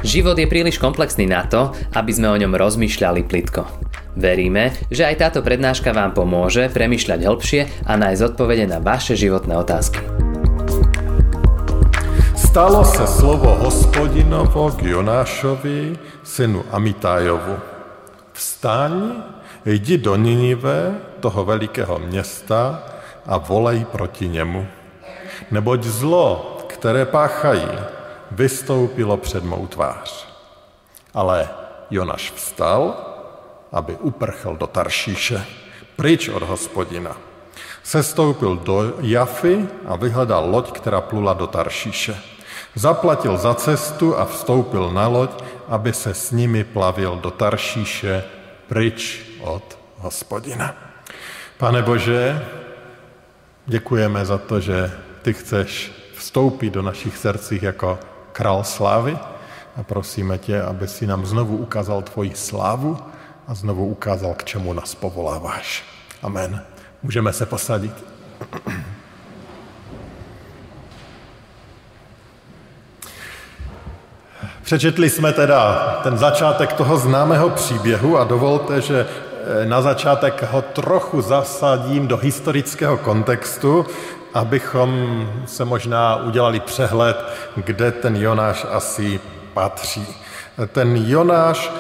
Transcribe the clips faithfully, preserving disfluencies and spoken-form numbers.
Život je príliš komplexný na to, aby sme o ňom rozmýšľali plitko. Veríme, že aj táto prednáška vám pomôže premýšľať hĺbšie a nájsť odpovede na vaše životné otázky. Stalo se slovo Hospodinovo k Jonášovi, synu Amitájovu. Vstaň, jdi do Ninive, toho velikého města, a volej proti němu. Neboť zlo, které páchají, vystoupilo před mou tvář. Ale Jonáš vstal, aby uprchl do Taršíše, pryč od Hospodina. Sestoupil do Jafy a vyhledal loď, která plula do Taršíše. Zaplatil za cestu a vstoupil na loď, aby se s nimi plavil do Taršíše, pryč od Hospodina. Pane Bože, děkujeme za to, že ty chceš vstoupit do našich srdcích jako král slávy a prosíme tě, aby si nám znovu ukázal tvoji slávu a znovu ukázal, k čemu nás povoláváš. Amen. Můžeme se posadit. Přečetli jsme teda ten začátek toho známého příběhu a dovolte, že na začátek ho trochu zasadím do historického kontextu, abychom se možná udělali přehled, kde ten Jonáš asi patří. Ten Jonáš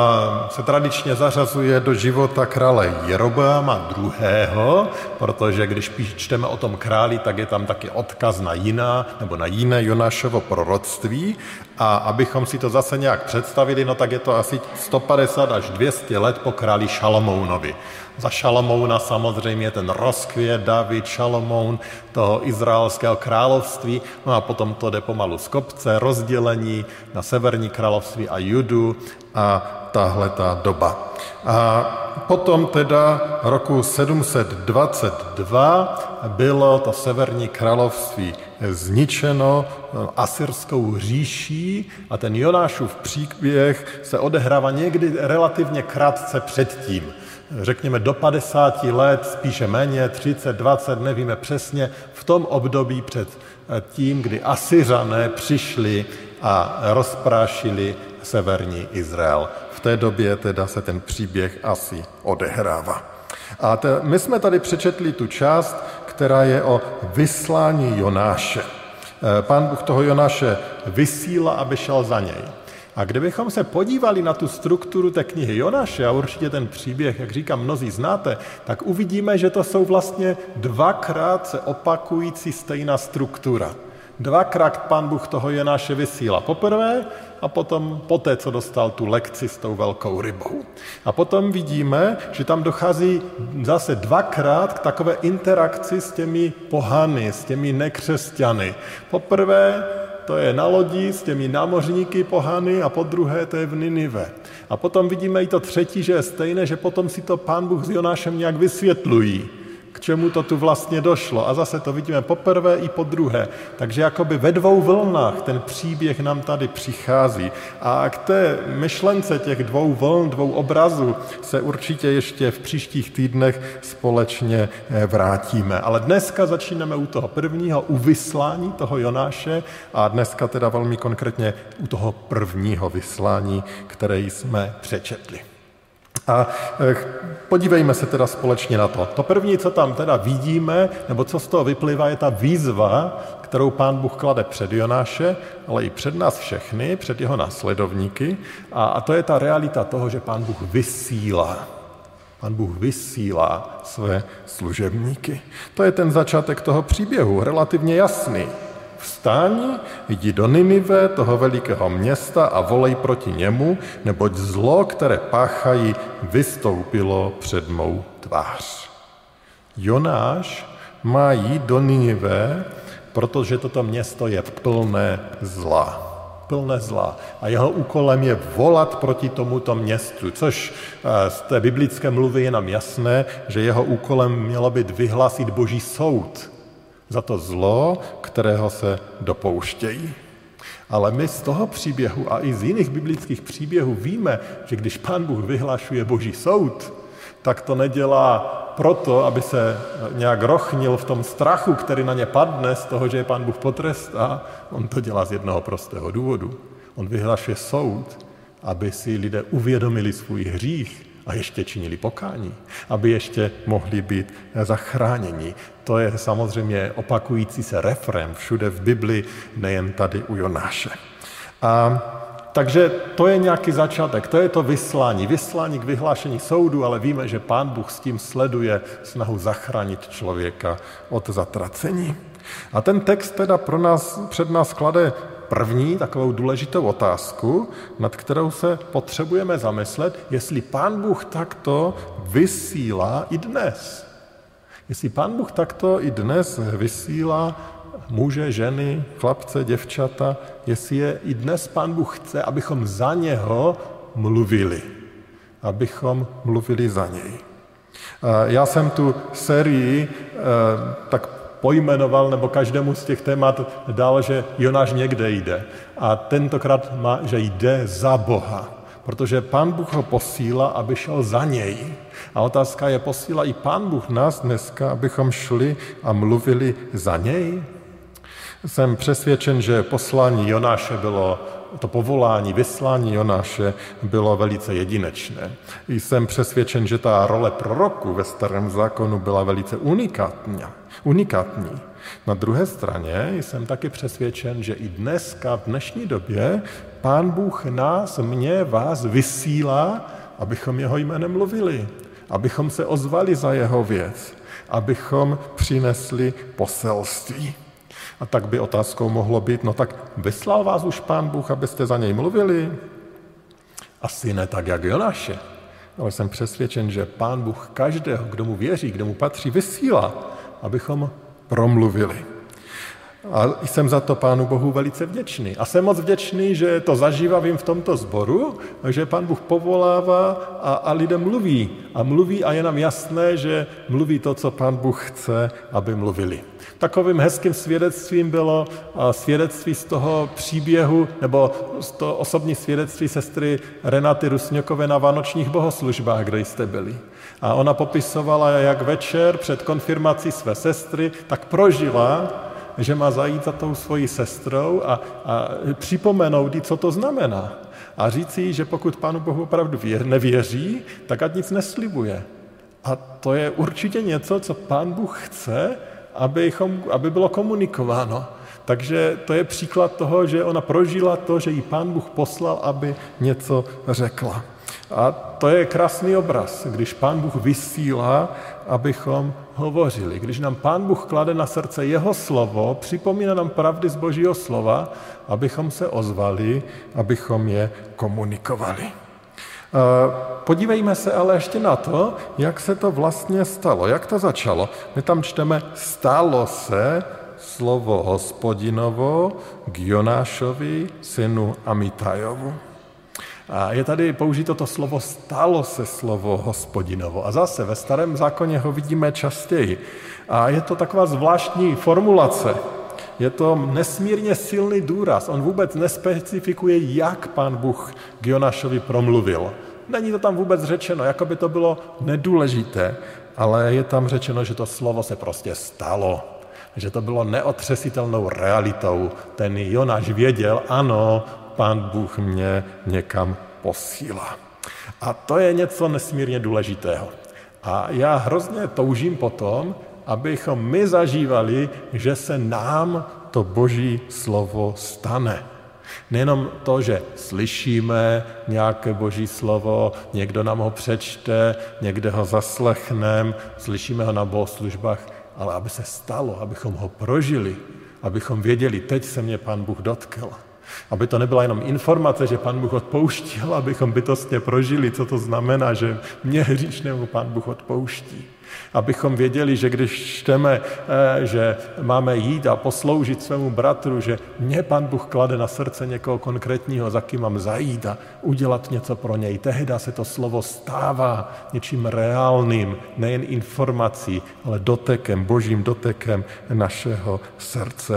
se tradičně zařazuje do života krále Jeroboama druhého., protože když čteme o tom králi, tak je tam taky odkaz na jiná nebo na jiné Jonášovo proroctví. A abychom si to zase nějak představili, no tak je to asi sto padesát až dvě stě let po králi Šalomounovi. Za Šalomouna samozřejmě ten rozkvět, David, Šalomoun, toho izraelského království, no a potom to jde pomalu z kopce, rozdělení na severní království a Judu a tahle ta doba. A potom teda roku sedm set dvacet dva bylo to severní království zničeno asyrskou říší a ten Jonášův příběh se odehrává někdy relativně krátce předtím. Řekněme do padesáti let, spíše méně, třicet, dvacet, nevíme přesně, v tom období před tím, kdy Asyřané přišli a rozprášili severní Izrael. V té době teda se ten příběh asi odehrává. A te, my jsme tady přečetli tu část, která je o vyslání Jonáše. Pán Bůh toho Jonáše vysílá, aby šel za něj. A kdybychom se podívali na tu strukturu té knihy Jonáše, a určitě ten příběh, jak říkám, mnozí znáte, tak uvidíme, že to jsou vlastně dvakrát se opakující stejná struktura. Dvakrát Pán Bůh toho Jonáše vysílá. Poprvé a potom poté, co dostal tu lekci s tou velkou rybou. A potom vidíme, že tam dochází zase dvakrát k takové interakci s těmi pohany, s těmi nekřesťany. Poprvé to je na lodi s těmi námořníky pohany a po druhé to je v Ninive. A potom vidíme i to třetí, že je stejné, že potom si to Pán Bůh s Jonášem nějak vysvětlují, k čemu to tu vlastně došlo. A zase to vidíme poprvé i po druhé. Takže jakoby ve dvou vlnách ten příběh nám tady přichází. A k té myšlence těch dvou vln, dvou obrazů se určitě ještě v příštích týdnech společně vrátíme. Ale dneska začínáme u toho prvního, u vyslání toho Jonáše a dneska teda velmi konkrétně u toho prvního vyslání, které jsme přečetli. A podívejme se teda společně na to. To první, co tam teda vidíme, nebo co z toho vyplývá, je ta výzva, kterou Pán Bůh klade před Jonáše, ale i před nás všechny, před jeho následovníky. A, a to je ta realita toho, že Pán Bůh vysílá. Pán Bůh vysílá své služebníky. To je ten začátek toho příběhu, relativně jasný. Vstaň, jdi do Ninive, toho velikého města a volej proti němu, neboť zlo, které páchají, vystoupilo před mou tvář. Jonáš má jít do Ninive, protože toto město je plné zla. Plné zla. A jeho úkolem je volat proti tomuto městu, což z té biblické mluvy je nám jasné, že jeho úkolem mělo být vyhlásit Boží soud za to zlo, kterého se dopouštějí. Ale my z toho příběhu a i z jiných biblických příběhů víme, že když Pán Bůh vyhlašuje Boží soud, tak to nedělá proto, aby se nějak rochnil v tom strachu, který na ně padne z toho, že je Pán Bůh potrestá. On to dělá z jednoho prostého důvodu. On vyhlašuje soud, aby si lidé uvědomili svůj hřích a ještě činili pokání, aby ještě mohli být zachráněni. To je samozřejmě opakující se refrén všude v Bibli, nejen tady u Jonáše. A takže to je nějaký začátek, to je to vyslání. Vyslání k vyhlášení soudu, ale víme, že Pán Bůh s tím sleduje snahu zachránit člověka od zatracení. A ten text teda pro nás, před nás klade první takovou důležitou otázku, nad kterou se potřebujeme zamyslet, jestli Pán Bůh takto vysílá i dnes. Jestli Pán Bůh takto i dnes vysílá muže, ženy, chlapce, děvčata, jestli je i dnes Pán Bůh chce, abychom za něho mluvili. Abychom mluvili za něj. Já jsem tu sérii tak pojmenoval, nebo každému z těch témat dal, že Jonáš někde jde. A tentokrát má, že jde za Boha. Protože Pán Bůh ho posílá, aby šel za něj. A otázka je, posílá i Pán Bůh nás dneska, abychom šli a mluvili za něj? Jsem přesvědčen, že poslání Jonáše bylo, to povolání, vyslání Jonáše bylo velice jedinečné. Jsem přesvědčen, že ta role proroku ve Starém zákonu byla velice unikátní. unikátní. Na druhé straně jsem taky přesvědčen, že i dneska, v dnešní době, Pán Bůh nás, mě, vás vysílá, abychom jeho jménem mluvili, abychom se ozvali za jeho věc, abychom přinesli poselství. A tak by otázkou mohlo být, no tak vyslal vás už Pán Bůh, abyste za něj mluvili? Asi ne tak, jak Jonáše. Ale jsem přesvědčen, že Pán Bůh každého, kdo mu věří, kdo mu patří, vysílá, abychom promluvili. A jsem za to Pánu Bohu velice vděčný. A jsem moc vděčný, že to zažívám v tomto sboru, že Pán Bůh povolává a, a lidem mluví. A mluví a je nám jasné, že mluví to, co Pán Bůh chce, aby mluvili. Takovým hezkým svědectvím bylo svědectví z toho příběhu, nebo z toho osobní svědectví sestry Renaty Rusňokové na vánočních bohoslužbách, kde jste byli. A ona popisovala, jak večer před konfirmací své sestry tak prožila, že má zajít za tou svojí sestrou a, a připomenout jí, co to znamená. A říct jí, že pokud Pánu Bohu opravdu nevěří, tak ať nic neslibuje. A to je určitě něco, co Pán Bůh chce, abychom, aby bylo komunikováno. Takže to je příklad toho, že ona prožila to, že jí Pán Bůh poslal, aby něco řekla. A to je krásný obraz, když Pán Bůh vysílá, abychom hovořili. Když nám Pán Bůh klade na srdce jeho slovo, připomíná nám pravdy z Božího slova, abychom se ozvali, abychom je komunikovali. Podívejme se ale ještě na to, jak se to vlastně stalo, jak to začalo. My tam čteme, stalo se slovo Hospodinovo k Jonášovi, synu Amitajovu. A je tady použito to slovo, stalo se slovo Hospodinovo. A zase ve Starém zákoně ho vidíme častěji. A je to taková zvláštní formulace. Je to nesmírně silný důraz. On vůbec nespecifikuje, jak Pán Bůh k Jonášovi promluvil. Není to tam vůbec řečeno, jako by to bylo nedůležité, ale je tam řečeno, že to slovo se prostě stalo. Že to bylo neotřesitelnou realitou. Ten Jonáš věděl, ano, Pán Bůh mě někam posílá. A to je něco nesmírně důležitého. A já hrozně toužím potom, abychom my zažívali, že se nám to Boží slovo stane. Nejenom to, že slyšíme nějaké Boží slovo, někdo nám ho přečte, někde ho zaslechneme, slyšíme ho na bohoslužbách, ale aby se stalo, abychom ho prožili, abychom věděli, teď se mě Pán Bůh dotkl. Aby to nebyla jenom informace, že Pán Bůh odpouštěl, abychom bytostně prožili, co to znamená, že mě hříšnému Pán Bůh odpouští. Abychom věděli, že když čteme, že máme jít a posloužit svému bratru, že mě Pán Bůh klade na srdce někoho konkrétního, za kým mám zajít a udělat něco pro něj. Tehdy se to slovo stává něčím reálným, nejen informací, ale dotekem, božím dotekem našeho srdce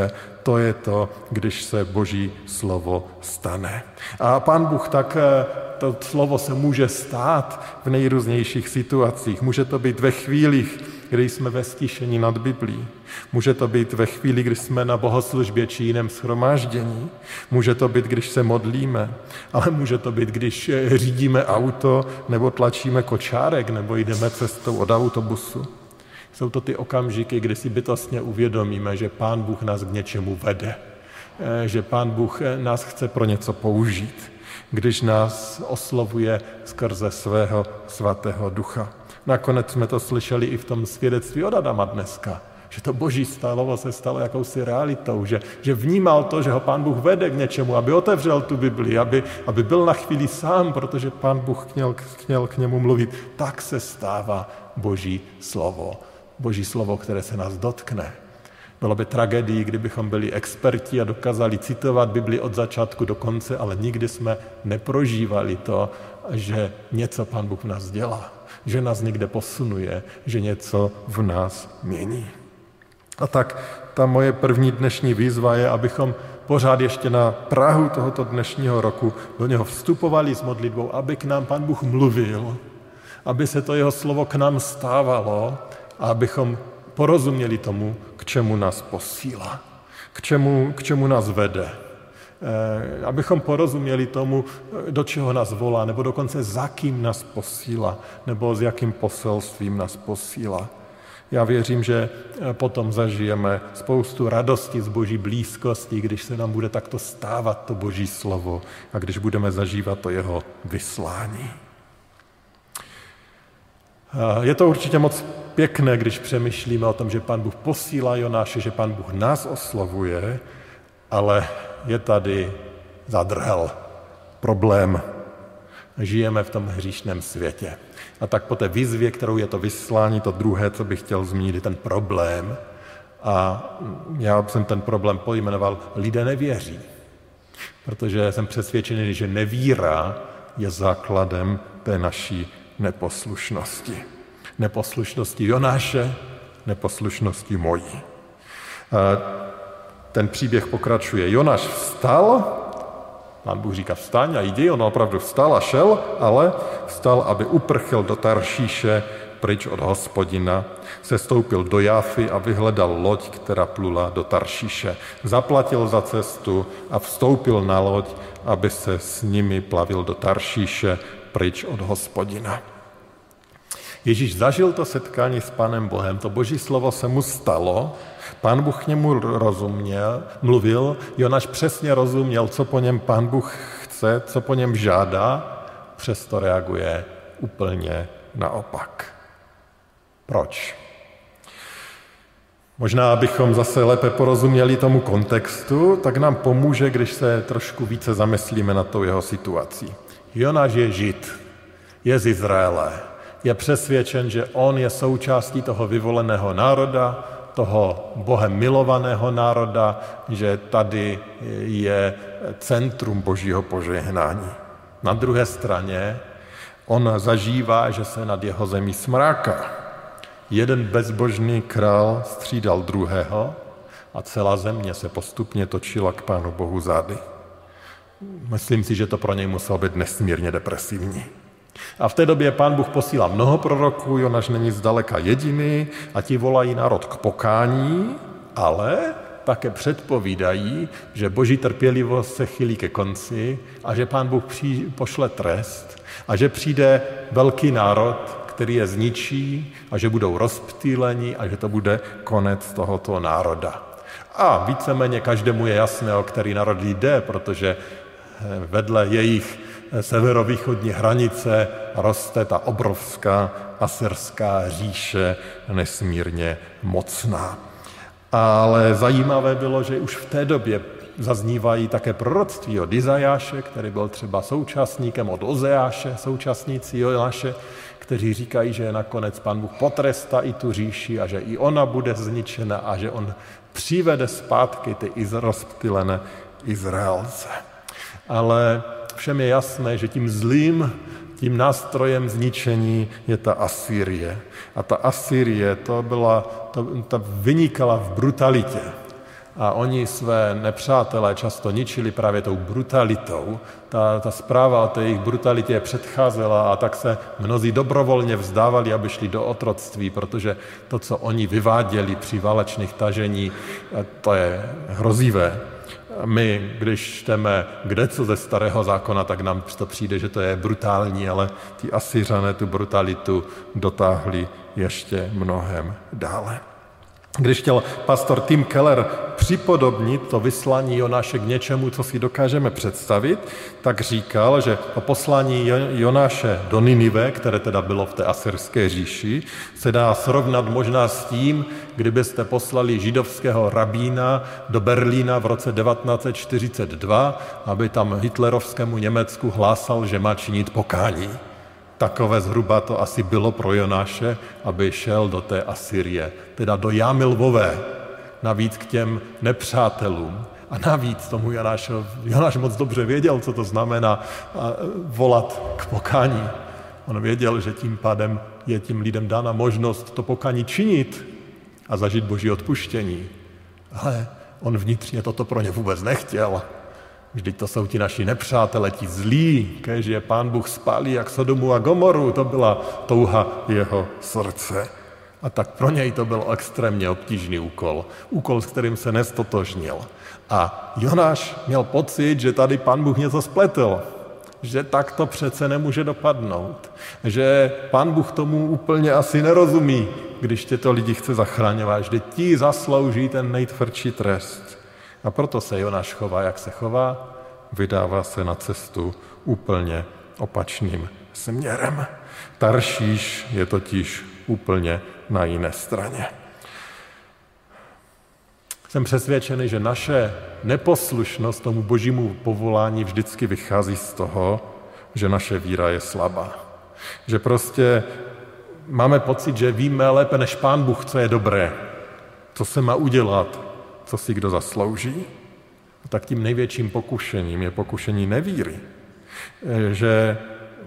To je to, když se Boží slovo stane. A Pán Bůh tak, to slovo se může stát v nejrůznějších situacích. Může to být ve chvílích, kdy jsme ve stišení nad Biblí. Může to být ve chvíli, kdy jsme na bohoslužbě či jiném shromáždění. Může to být, když se modlíme. Ale může to být, když řídíme auto, nebo tlačíme kočárek, nebo jdeme cestou od autobusu. Jsou to ty okamžiky, kdy si bytostně uvědomíme, že Pán Bůh nás k něčemu vede. Že Pán Bůh nás chce pro něco použít. Když nás oslovuje skrze svého svatého ducha. Nakonec jsme to slyšeli i v tom svědectví od Adama dneska, že to Boží slovo se stalo jakousi realitou, že, že vnímal to, že ho Pán Bůh vede k něčemu, aby otevřel tu Bibli, aby, aby byl na chvíli sám, protože Pán Bůh chtěl, chtěl k němu mluvit. Tak se stává Boží slovo. Boží slovo, které se nás dotkne. Bylo by tragédií, kdybychom byli experti a dokázali citovat Bibli od začátku do konce, ale nikdy jsme neprožívali to, že něco Pán Bůh v nás dělá, že nás někde posunuje, že něco v nás mění. A tak ta moje první dnešní výzva je, abychom pořád ještě na prahu tohoto dnešního roku do něho vstupovali s modlitbou, aby k nám Pán Bůh mluvil, aby se to jeho slovo k nám stávalo a abychom porozuměli tomu, k čemu nás posílá, k čemu, k čemu nás vede. E, abychom porozuměli tomu, do čeho nás volá, nebo dokonce za kým nás posílá, nebo s jakým poselstvím nás posílá. Já věřím, že potom zažijeme spoustu radosti z Boží blízkosti, když se nám bude takto stávat to Boží slovo a když budeme zažívat to jeho vyslání. Je to určitě moc pěkné, když přemýšlíme o tom, že Pán Bůh posílá Jonáše, že Pán Bůh nás oslovuje, ale je tady zadrhel problém. Žijeme v tom hříšném světě. A tak po té výzvě, kterou je to vyslání, to druhé, co bych chtěl zmínit, je ten problém. A já jsem ten problém pojmenoval, lidé nevěří. Protože jsem přesvědčený, že nevíra je základem té naší neposlušnosti. Neposlušnosti Jonáše, neposlušnosti mojí. Ten příběh pokračuje. Jonáš vstal, Pán Bůh říká vstaň a jdi, on opravdu vstal a šel, ale vstal, aby uprchl do Taršíše pryč od Hospodina, sestoupil do Jáfy a vyhledal loď, která plula do Taršíše. Zaplatil za cestu a vstoupil na loď, aby se s nimi plavil do Taršíše pryč od Hospodina. Ježíš zažil to setkání s Pánem Bohem, to Boží slovo se mu stalo, Pán Bůh k němu rozuměl, mluvil, Jonáš přesně rozuměl, co po něm Pán Bůh chce, co po něm žádá, přesto reaguje úplně naopak. Proč? Možná, abychom zase lépe porozuměli tomu kontextu, tak nám pomůže, když se trošku více zamyslíme nad tou jeho situací. Jonáš je Žid, je z Izraele, je přesvědčen, že on je součástí toho vyvoleného národa, toho Bohem milovaného národa, že tady je centrum Božího požehnání. Na druhé straně on zažívá, že se nad jeho zemí smráká. Jeden bezbožný král střídal druhého a celá země se postupně točila k Pánu Bohu zády. Myslím si, že to pro něj muselo být nesmírně depresivní. A v té době Pán Bůh posílá mnoho proroků, Jonáš není zdaleka jediný a ti volají národ k pokání, ale také předpovídají, že Boží trpělivost se chylí ke konci a že Pán Bůh při, pošle trest a že přijde velký národ, který je zničí a že budou rozptýleni a že to bude konec tohoto národa. A víceméně každému je jasné, o který národ jde, protože vedle jejich severovýchodní hranice roste ta obrovská asyrská říše, nesmírně mocná. Ale zajímavé bylo, že už v té době zaznívají také proroctví od Izajáše, který byl třeba současníkem, od Ozeáše, současníci Jonáše, kteří říkají, že nakonec Pán Bůh potrestá i tu říši a že i ona bude zničena a že on přivede zpátky ty rozptýlené Izraelce. Ale všem je jasné, že tím zlým, tím nástrojem zničení je ta Asýrie. A ta Asýrie, to byla, to, ta vynikala v brutalitě. a oni své nepřátelé často ničili právě tou brutalitou. Ta, ta zpráva o té jejich brutalitě předcházela a tak se mnozí dobrovolně vzdávali, aby šli do otroctví, protože to, co oni vyváděli při válečných tažení, to je hrozivé. My, když čteme kdeco ze Starého zákona, tak nám to přijde, že to je brutální, ale ti Asyřané tu brutalitu dotáhli ještě mnohem dále. Když chtěl pastor Tim Keller připodobnit to vyslání Jonáše k něčemu, co si dokážeme představit, tak říkal, že to poslání Jonáše do Ninive, které teda bylo v té asyrské říši, se dá srovnat možná s tím, kdybyste poslali židovského rabína do Berlína v roce devatenáct set čtyřicet dva, aby tam hitlerovskému Německu hlásal, že má činit pokání. Takové zhruba to asi bylo pro Jonáše, aby šel do té Asyrie, teda do Jámy Lvové, navíc k těm nepřátelům. A navíc tomu Jonáš, Jonáš moc dobře věděl, co to znamená volat k pokání. On věděl, že tím pádem je tím lidem dána možnost to pokání činit a zažít Boží odpuštění. Ale on vnitřně toto pro ně vůbec nechtěl. Vždyť to jsou ti naši nepřátelé, ti zlí, kež je Pán Bůh spálí jak Sodomu a Gomoru, to byla touha jeho srdce. A tak pro něj to byl extrémně obtížný úkol, úkol, s kterým se nestotožnil. A Jonáš měl pocit, že tady Pán Bůh něco spletl, že tak to přece nemůže dopadnout, že Pán Bůh tomu úplně asi nerozumí, když těto lidi chce zachraňovat, že ti zaslouží ten nejtvrdší trest. A proto se Jonáš chová, jak se chová, vydává se na cestu úplně opačným směrem. Taršíš je totiž úplně na jiné straně. Jsem přesvědčený, že naše neposlušnost tomu Božímu povolání vždycky vychází z toho, že naše víra je slabá. Že prostě máme pocit, že víme lépe než Pán Bůh, co je dobré, co se má udělat, co si kdo zaslouží. Tak tím největším pokušením je pokušení nevíry. Že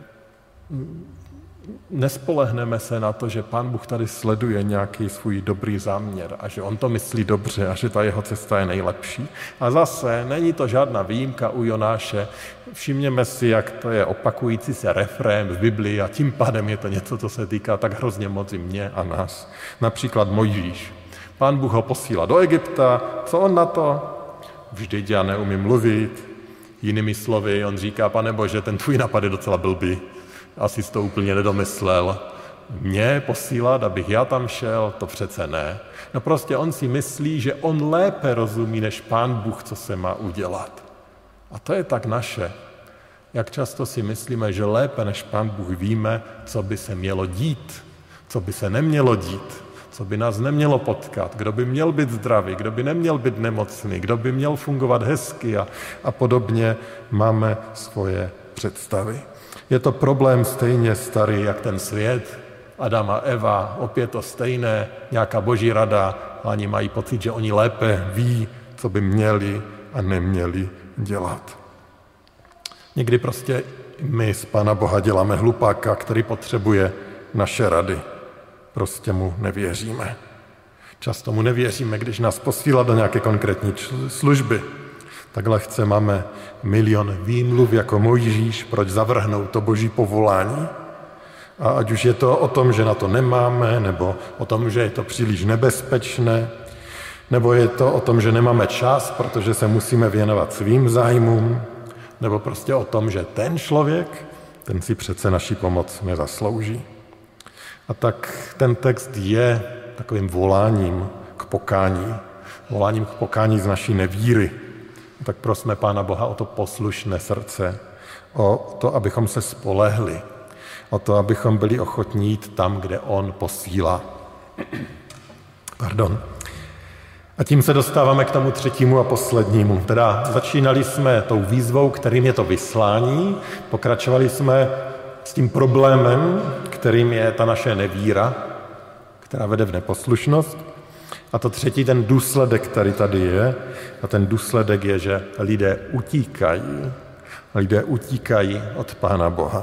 nespolehneme se na to, že Pán Bůh tady sleduje nějaký svůj dobrý záměr a že on to myslí dobře a že ta jeho cesta je nejlepší. A zase není to žádná výjimka u Jonáše. Všimněme si, jak to je opakující se refrén v Biblii a tím pádem je to něco, co se týká tak hrozně moc i mě a nás. Například Mojžíš. Pán Bůh ho posílá do Egypta, co on na to? Vždyť já neumím mluvit. Jinými slovy, on říká, Pane Bože, ten tvůj nápad je docela blbý. Asi jsi to úplně nedomyslel. Mě posílat, abych já tam šel, to přece ne. No prostě on si myslí, že on lépe rozumí než Pán Bůh, co se má udělat. A to je tak naše. Jak často si myslíme, že lépe než Pán Bůh víme, co by se mělo dít, co by se nemělo dít, co by nás nemělo potkat, kdo by měl být zdravý, kdo by neměl být nemocný, kdo by měl fungovat hezky a, a podobně máme svoje představy. Je to problém stejně starý, jak ten svět, Adam a Eva, opět to stejné, nějaká boží rada, a oni mají pocit, že oni lépe ví, co by měli a neměli dělat. Někdy prostě my z Pána Boha děláme hlupáka, který potřebuje naše rady. Prostě mu nevěříme. Často mu nevěříme, když nás posílá do nějaké konkrétní služby. Tak lehce máme milion výmluv jako Mojžíš, proč zavrhnout to boží povolání. A ať už je to o tom, že na to nemáme, nebo o tom, že je to příliš nebezpečné, nebo je to o tom, že nemáme čas, protože se musíme věnovat svým zájmům, nebo prostě o tom, že ten člověk, ten si přece naši pomoc nezaslouží. A tak ten text je takovým voláním k pokání, voláním k pokání z naší nevíry. Tak prosme Pána Boha o to poslušné srdce, o to, abychom se spolehli, o to, abychom byli ochotní jít tam, kde on posílá. Pardon. A tím se dostáváme k tomu třetímu a poslednímu. Teda začínali jsme tou výzvou, kterým je to vyslání, pokračovali jsme s tím problémem, kterým je ta naše nevíra, která vede v neposlušnost. A to třetí, ten důsledek, který tady je, a ten důsledek je, že lidé utíkají. Lidé utíkají od Pána Boha.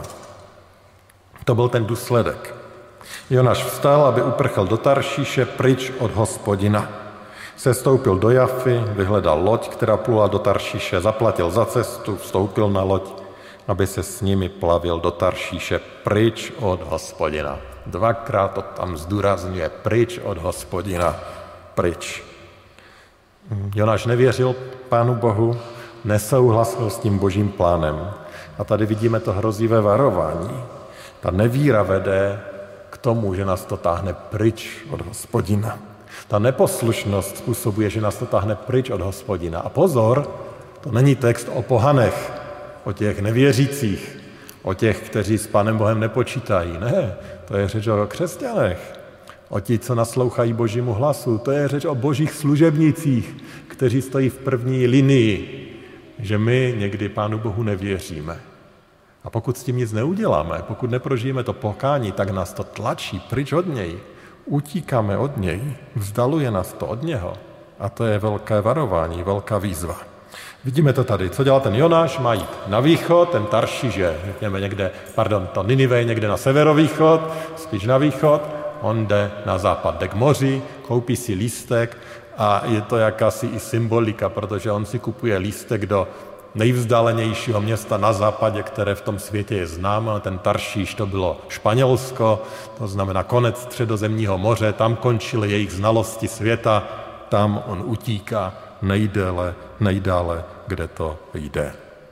To byl ten důsledek. Jonáš vstal, aby uprchl do Taršíše pryč od Hospodina. Sestoupil do Jafy, vyhledal loď, která plula do Taršíše, zaplatil za cestu, vstoupil na loď, aby se s nimi plavil do Taršíše pryč od Hospodina. Dvakrát to tam zdůrazňuje, pryč od Hospodina, pryč. Jonáš nevěřil Pánu Bohu, nesouhlasil s tím božím plánem. A tady vidíme to hrozivé varování. Ta nevíra vede k tomu, že nás to táhne pryč od Hospodina. Ta neposlušnost způsobuje, že nás to táhne pryč od Hospodina. A pozor, to není text o pohanech, o těch nevěřících, o těch, kteří s Pánem Bohem nepočítají. Ne, to je řeč o křesťanech, o ti, co naslouchají božímu hlasu. To je řeč o božích služebnících, kteří stojí v první linii, že my někdy Pánu Bohu nevěříme. A pokud s tím nic neuděláme, pokud neprožijeme to pokání, tak nás to tlačí pryč od něj. Utíkáme od něj, vzdaluje nás to od něho. A to je velké varování, velká výzva. Vidíme to tady. Co dělá ten Jonáš? Má jít na východ, ten Taršíš je, řekněme někde, pardon, to Ninive je někde na severovýchod, spíš na východ, on jde na západ, jde k moři, koupí si lístek a je to jakási i symbolika, protože on si kupuje lístek do nejvzdálenějšího města na západě, které v tom světě je známo. Ten Taršíš, to bylo Španělsko, to znamená konec Středozemního moře, tam končily jejich znalosti světa, tam on utíká nejdéle, nejdále, kde to jde.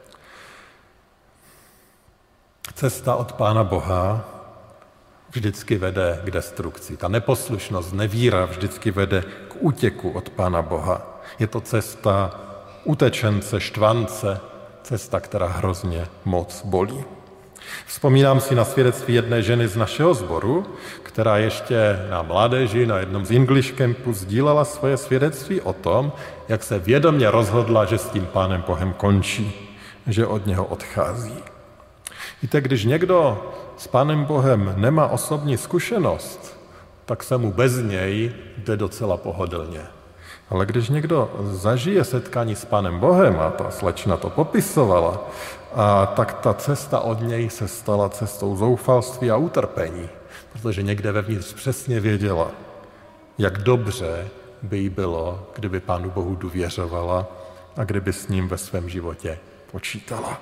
Cesta od Pána Boha vždycky vede k destrukci. Ta neposlušnost, nevíra vždycky vede k útěku od Pána Boha. Je to cesta utečence, štvance, cesta, která hrozně moc bolí. Vzpomínám si na svědectví jedné ženy z našeho sboru, která ještě na mládeži, na jednom z English Campu sdílela svoje svědectví o tom, jak se vědomě rozhodla, že s tím Pánem Bohem končí, že od něho odchází. Víte, když někdo s Pánem Bohem nemá osobní zkušenost, tak se mu bez něj jde docela pohodlně. Ale když někdo zažije setkání s Pánem Bohem, a ta slečna to popisovala, a tak ta cesta od něj se stala cestou zoufalství a utrpení, protože někde vevnitř přesně věděla, jak dobře by jí bylo, kdyby Pánu Bohu důvěřovala a kdyby s ním ve svém životě počítala.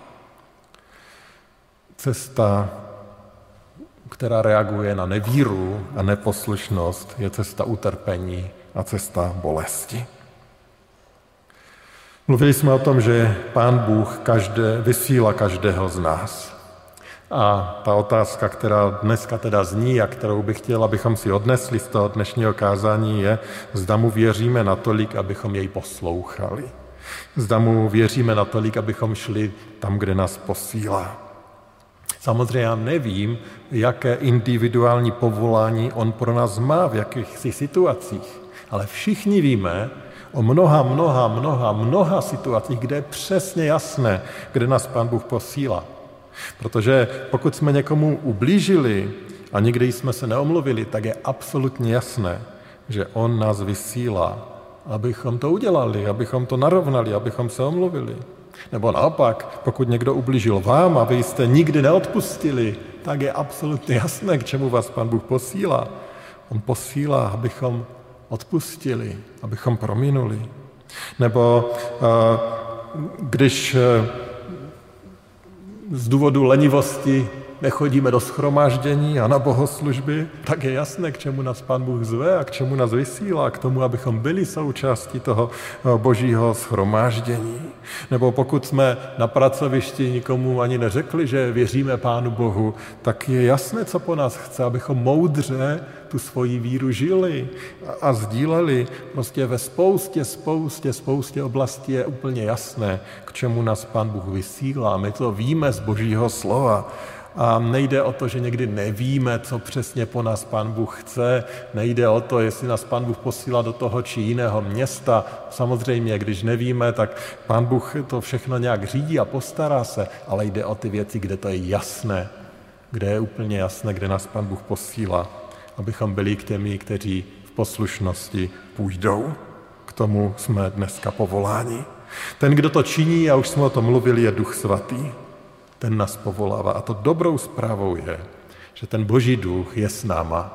Cesta, která reaguje na nevíru a neposlušnost, je cesta utrpení a cesta bolesti. Mluvili jsme o tom, že Pán Bůh každé, vysílá každého z nás. A ta otázka, která dneska teda zní a kterou bych chtěl, abychom si odnesli z toho dnešního kázání, je, zda mu věříme natolik, abychom jej poslouchali. Zda mu věříme natolik, abychom šli tam, kde nás posílá. Samozřejmě já nevím, jaké individuální povolání on pro nás má, v jakýchsi situacích, ale všichni víme o mnoha, mnoha, mnoha, mnoha situacích, kde je přesně jasné, kde nás Pán Bůh posílá. Protože pokud jsme někomu ublížili a nikdy jsme se neomluvili, tak je absolutně jasné, že on nás vysílá, abychom to udělali, abychom to narovnali, abychom se omluvili. Nebo naopak, pokud někdo ublížil vám a vy jste nikdy neodpustili, tak je absolutně jasné, k čemu vás Pán Bůh posílá. On posílá, abychom odpustili, abychom prominuli. Nebo když z důvodu lenivosti nechodíme do shromáždění a na bohoslužby, tak je jasné, k čemu nás Pán Bůh zve a k čemu nás vysílá, k tomu, abychom byli součástí toho božího shromáždění. Nebo pokud jsme na pracovišti nikomu ani neřekli, že věříme Pánu Bohu, tak je jasné, co po nás chce, abychom moudře tu svoji víru žili a, a sdíleli. Prostě ve spoustě, spoustě, spoustě oblastí je úplně jasné, k čemu nás Pán Bůh vysílá. My to víme z božího slova. A nejde o to, že někdy nevíme, co přesně po nás Pán Bůh chce. Nejde o to, jestli nás Pán Bůh posílá do toho či jiného města. Samozřejmě, když nevíme, tak Pán Bůh to všechno nějak řídí a postará se, ale jde o ty věci, kde to je jasné, kde je úplně jasné, kde nás Pán Bůh posílá, abychom byli k těmi, kteří v poslušnosti půjdou. K tomu jsme dneska povoláni. Ten, kdo to činí, a už jsme o tom mluvili, je Duch Svatý. Ten nás povolává. A to dobrou zprávou je, že ten Boží duch je s náma.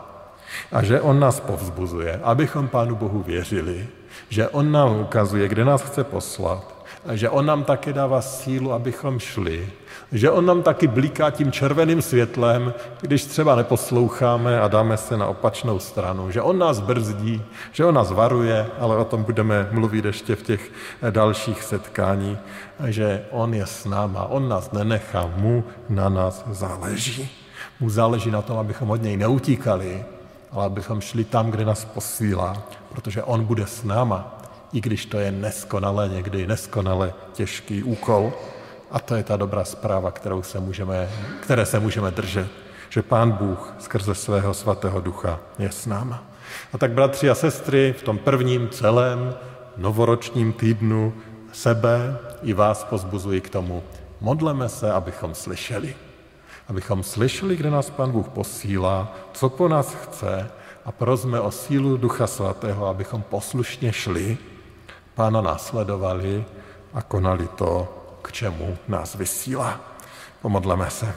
A že on nás povzbuzuje, abychom Pánu Bohu věřili, že on nám ukazuje, kde nás chce poslat, a že on nám taky dává sílu, abychom šli, že on nám taky bliká tím červeným světlem, když třeba neposloucháme a dáme se na opačnou stranu, že on nás brzdí, že on nás varuje, ale o tom budeme mluvit ještě v těch dalších setkání, že on je s náma, on nás nenechá, mu na nás záleží. Mu záleží na tom, abychom od něj neutíkali, ale abychom šli tam, kde nás posílá, protože on bude s náma, i když to je neskonale, někdy neskonale těžký úkol. A to je ta dobrá zpráva, kterou se můžeme, které se můžeme držet, že Pán Bůh skrze svého svatého ducha je s náma. A tak bratři a sestry, v tom prvním celém novoročním týdnu sebe i vás pozbuzuji k tomu. Modleme se, abychom slyšeli. Abychom slyšeli, kde nás Pán Bůh posílá, co po nás chce a prosme o sílu Ducha Svatého, abychom poslušně šli, Pána následovali a konali to, k čemu nás vysílá. Pomodleme se.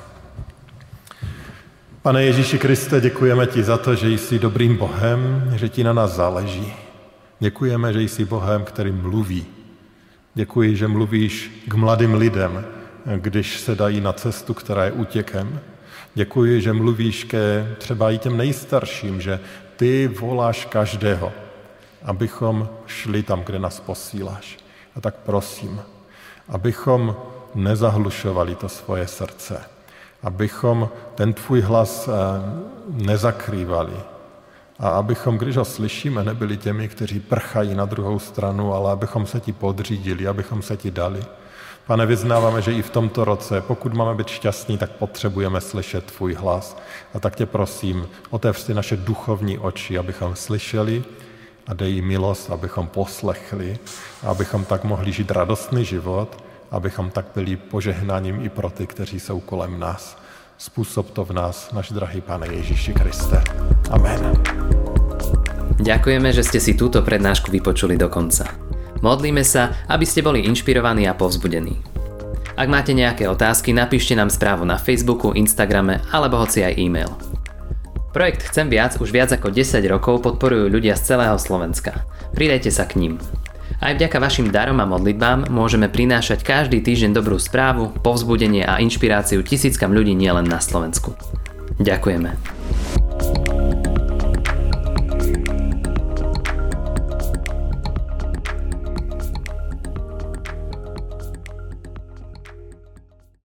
Pane Ježíši Kriste, děkujeme ti za to, že jsi dobrým Bohem, že ti na nás záleží. Děkujeme, že jsi Bohem, který mluví. Děkuji, že mluvíš k mladým lidem, když se dají na cestu, která je útěkem. Děkuji, že mluvíš ke třeba i těm nejstarším, že ty voláš každého, abychom šli tam, kde nás posíláš. A tak prosím, abychom nezahlušovali to svoje srdce, abychom ten tvůj hlas nezakrývali a abychom, když ho slyšíme, nebyli těmi, kteří prchají na druhou stranu, ale abychom se ti podřídili, abychom se ti dali. Pane, vyznáváme, že i v tomto roce, pokud máme být šťastní, tak potřebujeme slyšet tvůj hlas. A tak tě prosím, otevř si naše duchovní oči, abychom slyšeli a dej jí milost, abychom poslechli, a abychom tak mohli žít radostný život, abychom tak byli požehnáním i pro ty, kteří jsou kolem nás. Způsob to v nás, náš drahý Pane Ježíši Kriste. Amen. Ďakujeme, že ste si túto prednášku vypočuli do konca. Modlíme sa, aby ste boli inšpirovaní a povzbudení. Ak máte nejaké otázky, napíšte nám správu na Facebooku, Instagrame alebo hoci aj e-mail. Projekt Chcem viac už viac ako desať rokov podporujú ľudia z celého Slovenska. Pridajte sa k ním. Aj vďaka vašim darom a modlitbám môžeme prinášať každý týždeň dobrú správu, povzbudenie a inšpiráciu tisíckam ľudí nielen na Slovensku. Ďakujeme.